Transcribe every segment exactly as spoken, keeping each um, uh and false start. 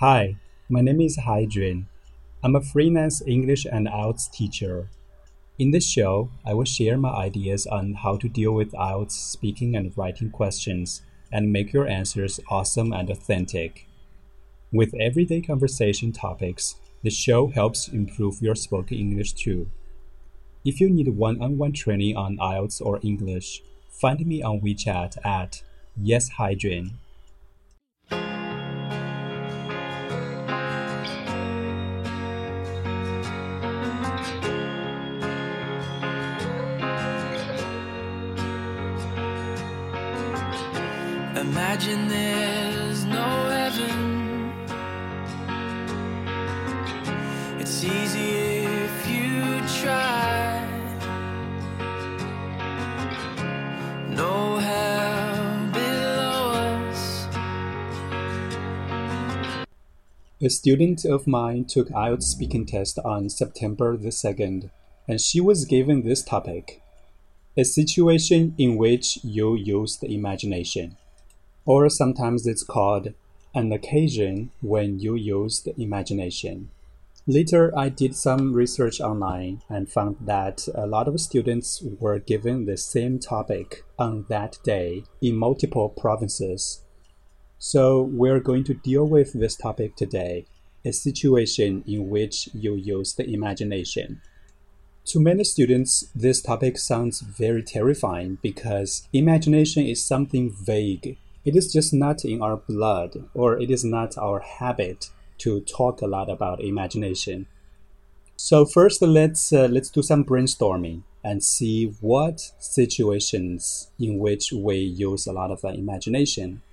Hi, my name is Haijun. I'm a freelance English and I E L T S teacher. In this show, I will share my ideas on how to deal with I E L T S speaking and writing questions and make your answers awesome and authentic. With everyday conversation topics, the show helps improve your spoken English too. If you need one-on-one training on I E L T S or English, find me on WeChat at yeshaijun. Imagine there's no heaven. It's easy if you try. No hell below us. A student of mine took I E L T S speaking test on September the second, and she was given this topic: a situation in which you use the imagination. Or sometimes it's called an occasion when you use the imagination. Later, I did some research online and found that a lot of students were given the same topic on that day in multiple provinces. So we're going to deal with this topic today, a situation in which you use the imagination. To many students, this topic sounds very terrifying because imagination is something vague. It is just not in our blood, or it is not our habit to talk a lot about imagination. So first, let's uh, let's do some brainstorming and see what situations in which we use a lot of uh, imagination.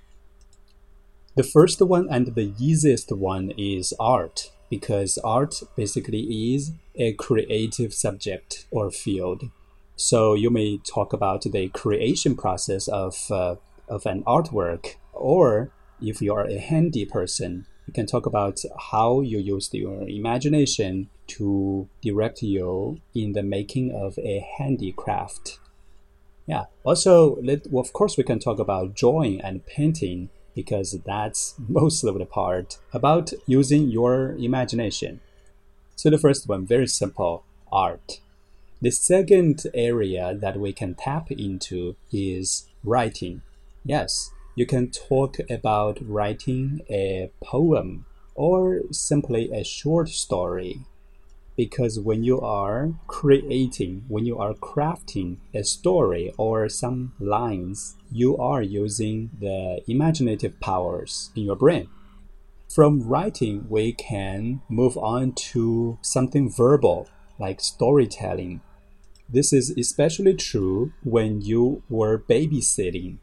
The first one and the easiest one is art, because art basically is a creative subject or field. So you may talk about the creation process of uh, of an artwork, or if you are a handy person, you can talk about how you use your imagination to direct you in the making of a handicraft. Yeah. Also, let, well, of course, we can talk about drawing and painting because that's most of the part about using your imagination. So the first one, very simple, art. The second area that we can tap into is writing. Yes, you can talk about writing a poem or simply a short story. Because when you are creating, when you are crafting a story or some lines, you are using the imaginative powers in your brain. From writing, we can move on to something verbal, like storytelling. This is especially true when you were babysitting.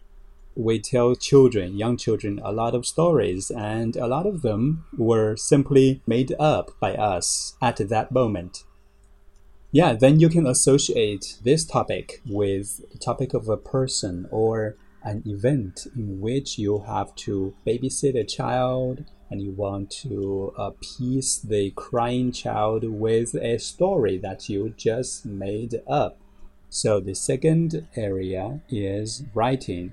We tell children, young children, a lot of stories, and a lot of them were simply made up by us at that moment. Yeah, then you can associate this topic with the topic of a person or an event in which you have to babysit a child and you want to appease the crying child with a story that you just made up. So the second area is writing.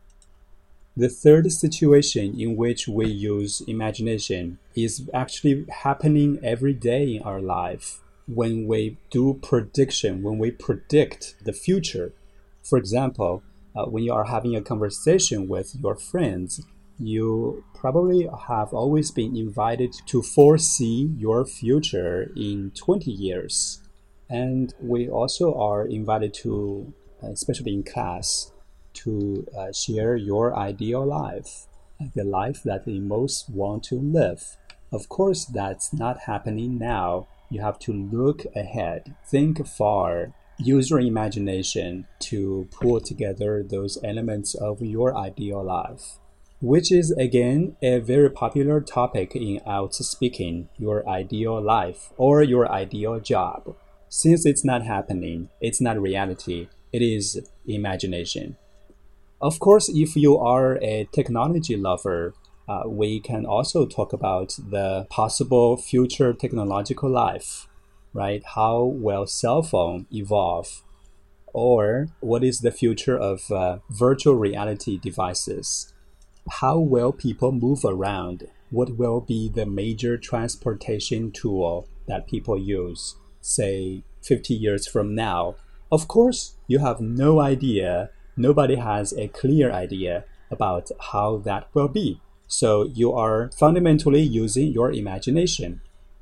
The third situation in which we use imagination is actually happening every day in our life when we do prediction, when we predict the future. For example, uh, when you are having a conversation with your friends, you probably have always been invited to foresee your future in twenty years. And we also are invited to, especially in class, to uh, share your ideal life, the life that you most want to live. Of course, that's not happening now. You have to look ahead, think far, use your imagination to pull together those elements of your ideal life, which is, again, a very popular topic in I E L T S speaking, your ideal life or your ideal job. Since it's not happening, it's not reality, it is imagination. Of course, if you are a technology lover, uh, we can also talk about the possible future technological life, right? How will cell phone evolve? Or what is the future of uh, virtual reality devices? How will people move around? what will be the major transportation tool that people use, say, fifty years from now. Of course, you have no idea. Nobody has a clear idea about how that will be. So you are fundamentally using your imagination.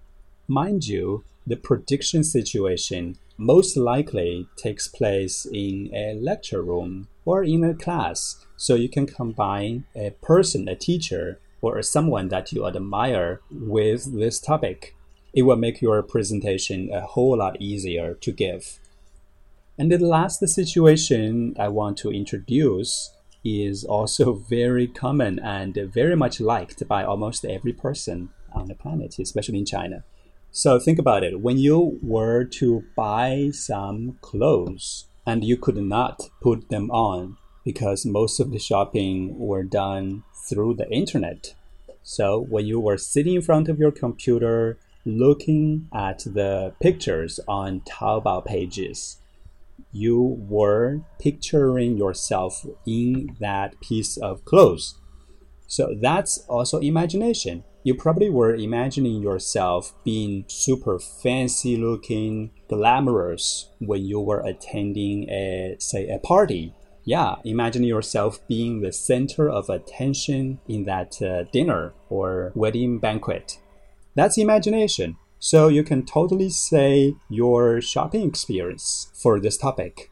Mind you, the prediction situation most likely takes place in a lecture room or in a class. So you can combine a person, a teacher, or someone that you admire with this topic. It will make your presentation a whole lot easier to give. And the last situation I want to introduce is also very common and very much liked by almost every person on the planet, especially in China. So think about it. When you were to buy some clothes and you could not put them on because most of the shopping were done through the internet. So when you were sitting in front of your computer looking at the pictures on Taobao pages, you were picturing yourself in that piece of clothes. So that's also imagination. You probably were imagining yourself being super fancy looking, glamorous when you were attending a, say, a party. Yeah, imagine yourself being the center of attention in that uh, dinner or wedding banquet. That's imagination. So you can totally say your shopping experience for this topic.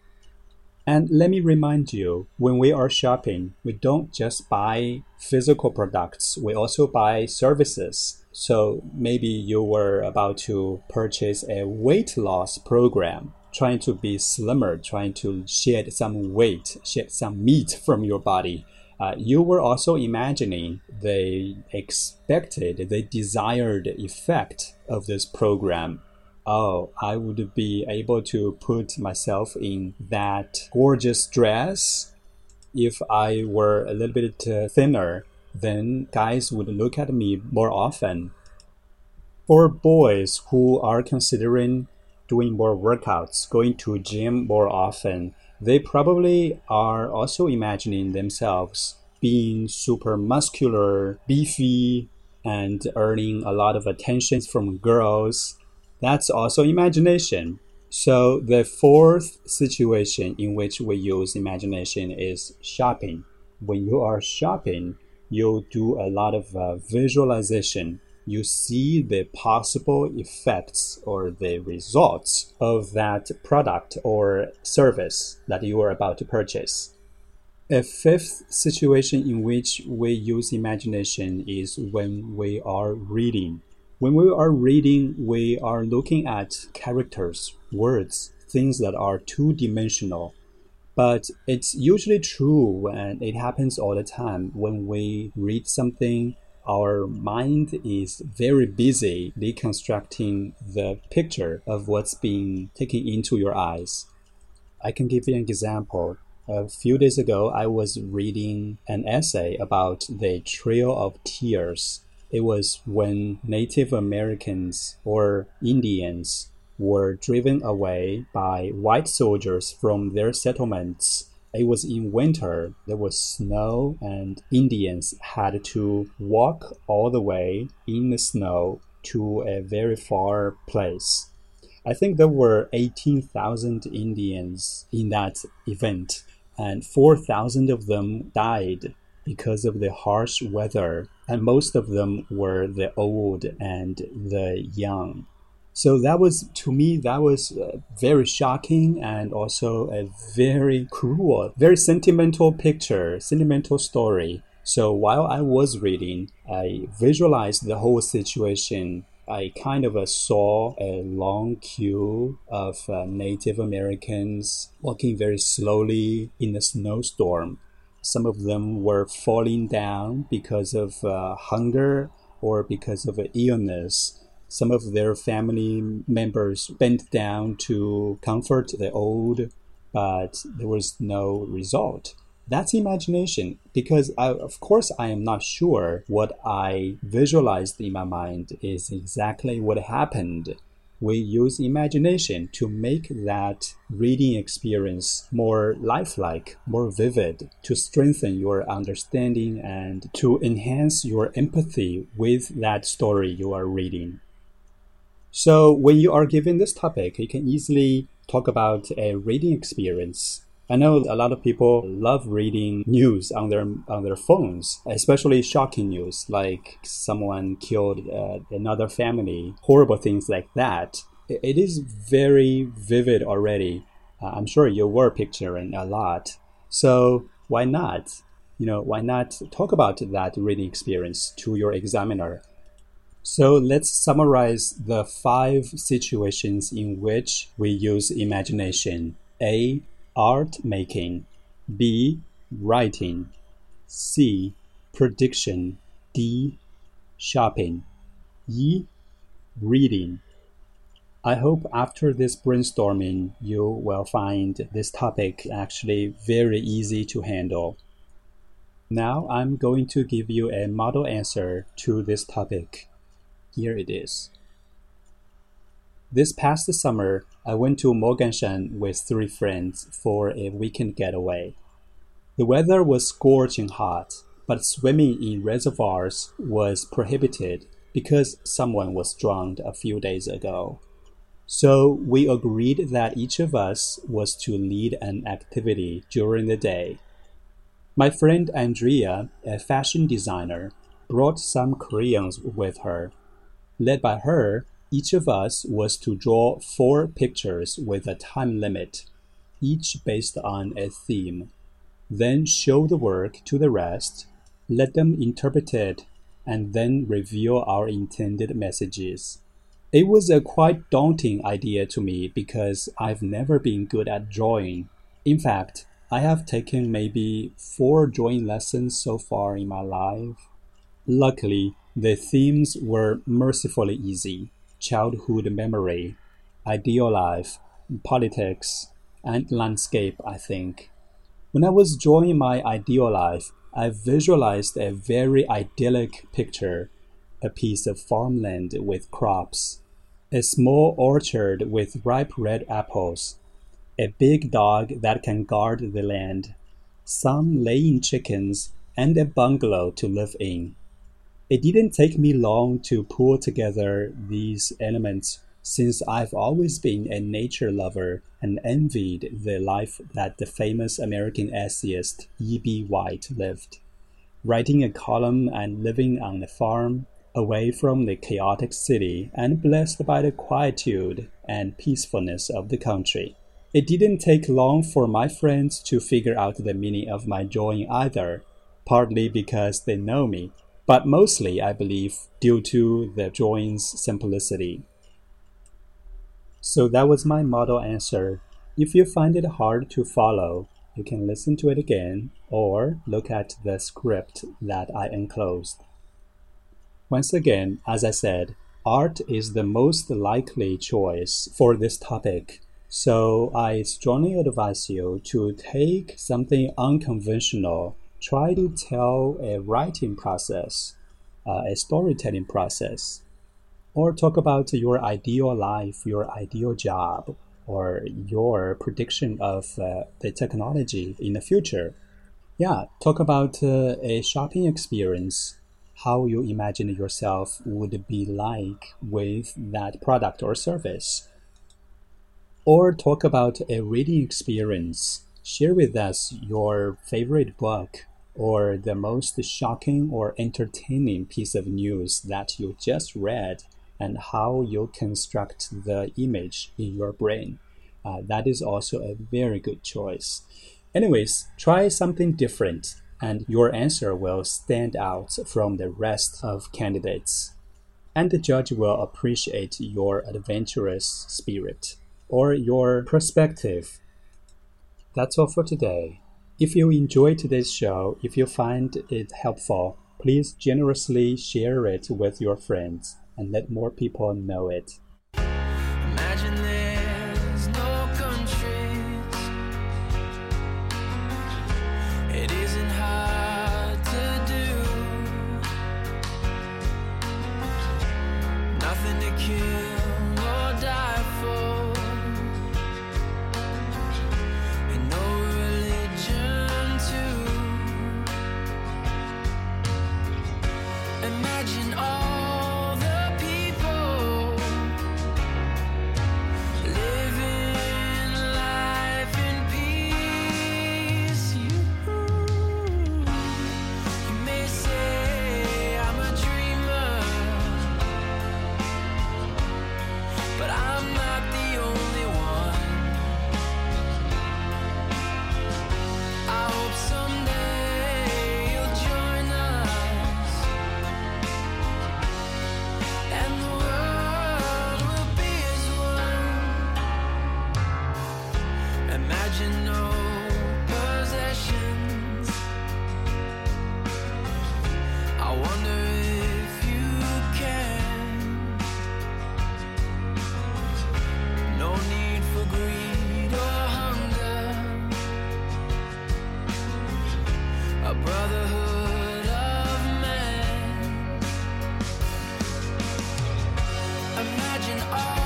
And let me remind you, when we are shopping, we don't just buy physical products, we also buy services. So maybe you were about to purchase a weight loss program, trying to be slimmer, trying to shed some weight, shed some meat from your body. Uh, you were also imagining the expected, the desired effect of this program. Oh, I would be able to put myself in that gorgeous dress. If I were a little bit uh, thinner, then guys would look at me more often. For boys who are considering doing more workouts, going to gym more often, they probably are also imagining themselves being super muscular, beefy, and earning a lot of attention from girls. That's also imagination. So the fourth situation in which we use imagination is shopping. When you are shopping, you do a lot of uh, visualization. You see the possible effects or the results of that product or service that you are about to purchase. A fifth situation in which we use imagination is when we are reading. When we are reading, we are looking at characters, words, things that are two-dimensional. But it's usually true, and it happens all the time. When we read something, our mind is very busy reconstructing the picture of what's being taken into your eyes. I can give you an example. A few days ago, I was reading an essay about the Trail of Tears. It was when Native Americans or Indians were driven away by white soldiers from their settlements. It was in winter, there was snow, and Indians had to walk all the way in the snow to a very far place. I think there were eighteen thousand Indians in that event, and four thousand of them died because of the harsh weather, and most of them were the old and the young. So that was, to me, that was uh, very shocking and also a very cruel, very sentimental picture, sentimental story. So while I was reading, I visualized the whole situation. I kind of uh, saw a long queue of uh, Native Americans walking very slowly in a snowstorm. Some of them were falling down because of uh, hunger or because of uh, illness. Some of their family members bent down to comfort the old, but there was no result. That's imagination, because I, of course I am not sure what I visualized in my mind is exactly what happened. we use imagination to make that reading experience more lifelike, more vivid, to strengthen your understanding and to enhance your empathy with that story you are reading. So when you are given this topic, you can easily talk about a reading experience. I know a lot of people love reading news on their on their phones, especially shocking news, like someone killed uh, another family, horrible things like that. It is very vivid already. Uh, I'm sure you were picturing a lot. So why not? You know, why not talk about that reading experience to your examiner? So let's summarize the five situations in which we use imagination. A. Art making. B. Writing. C. Prediction. D. Shopping. E. Reading. I hope after this brainstorming, you will find this topic actually very easy to handle. Now I'm going to give you a model answer to this topic. Here it is. This past summer, I went to Moganshan with three friends for a weekend getaway. The weather was scorching hot, but swimming in reservoirs was prohibited because someone was drowned a few days ago. So we agreed that each of us was to lead an activity during the day. My friend Andrea, a fashion designer, brought some crayons with her. Led by her, each of us was to draw four pictures with a time limit, each based on a theme. Then show the work to the rest, let them interpret it, and then reveal our intended messages. It was a quite daunting idea to me because I've never been good at drawing. In fact, I have taken maybe four drawing lessons so far in my life. Luckily, the themes were mercifully easy: childhood memory, ideal life, politics, and landscape, I think. When I was drawing my ideal life, I visualized a very idyllic picture: a piece of farmland with crops, a small orchard with ripe red apples, a big dog that can guard the land, some laying chickens, and a bungalow to live in. It didn't take me long to pull together these elements since I've always been a nature lover and envied the life that the famous American essayist E B White lived, writing a column and living on a farm, away from the chaotic city and blessed by the quietude and peacefulness of the country. It didn't take long for my friends to figure out the meaning of my drawing either, partly because they know me, but mostly, I believe, due to the drawing's simplicity. So that was my model answer. If you find it hard to follow, you can listen to it again or look at the script that I enclosed. Once again, as I said, art is the most likely choice for this topic. So I strongly advise you to take something unconventional. Try to tell a writing process, uh, a storytelling process, or talk about your ideal life, your ideal job, or your prediction of uh, the technology in the future. Yeah, talk about uh, a shopping experience, how you imagine yourself would be like with that product or service. Or talk about a reading experience. Share with us your favorite book, or the most shocking or entertaining piece of news that you just read, and how you construct the image in your brain. Uh, that is also a very good choice. Anyways, try something different, and your answer will stand out from the rest of candidates. And the judge will appreciate your adventurous spirit or your perspective. That's all for today. If you enjoyed today's show, if you find it helpful, please generously share it with your friends and let more people know it. Imagine there's no countries. It isn't hard to do. Nothing to kill or die. imagine all